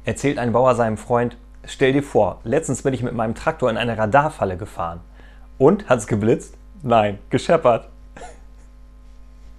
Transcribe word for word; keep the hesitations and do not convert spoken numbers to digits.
Erzählt ein Bauer seinem Freund: Stell dir vor, letztens bin ich mit meinem Traktor in eine Radarfalle gefahren. Und? Hat's geblitzt? Nein, gescheppert.